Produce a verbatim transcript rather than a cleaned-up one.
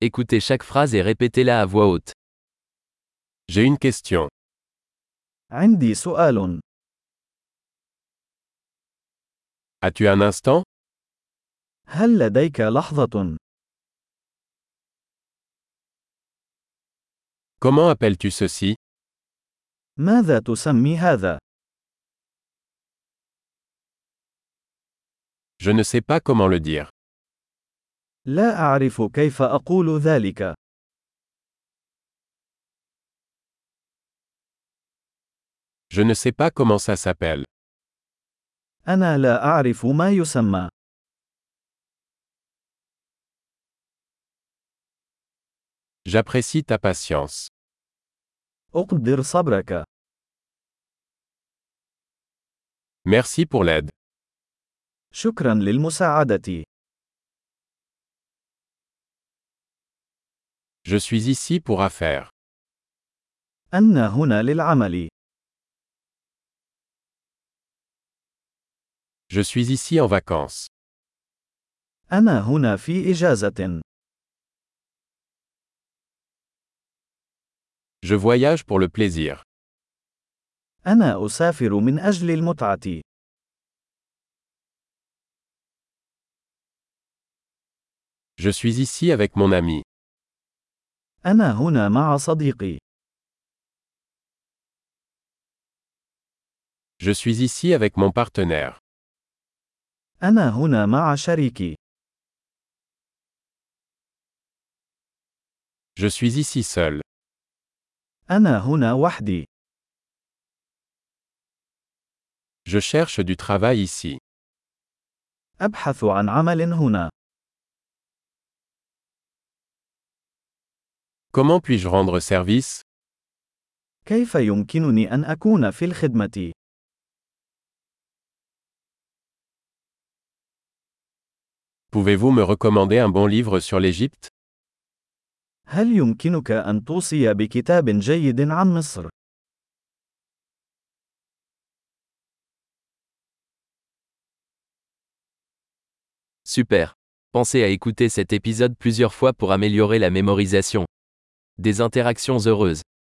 Écoutez chaque phrase et répétez-la à voix haute. J'ai une question. عندي سؤال. As-tu un instant? هل لديك لحظة؟ Comment appelles-tu ceci? ماذا تسمي هذا؟ Je ne sais pas comment le dire. لا أعرف كيف أقول ذلك. Je ne sais pas comment ça s'appelle. أنا لا أعرف ما يسمى. J'apprécie ta patience. أقدر صبرك. Merci pour l'aide. شكرا للمساعدة. Je suis ici pour affaires. أنا هنا للعمل. Je suis ici en vacances. أنا هنا في إجازة. Je voyage pour le plaisir. أنا أسافر من أجل المتعة. Je suis ici avec mon ami. أنا هنا مع صديقي. Je suis ici avec mon partenaire. أنا هنا مع شريكي. Je suis ici seul. أنا هنا وحدي. Je cherche du travail ici. أبحث عن عمل هنا. Comment puis-je rendre service? كيف يمكنني أن أكون في الخدمة؟ Pouvez-vous me recommander un bon livre sur l'Égypte? هل يمكنك أن توصي بكتاب جيد عن مصر؟ Super. Pensez à écouter cet épisode plusieurs fois pour améliorer la mémorisation. Des interactions heureuses.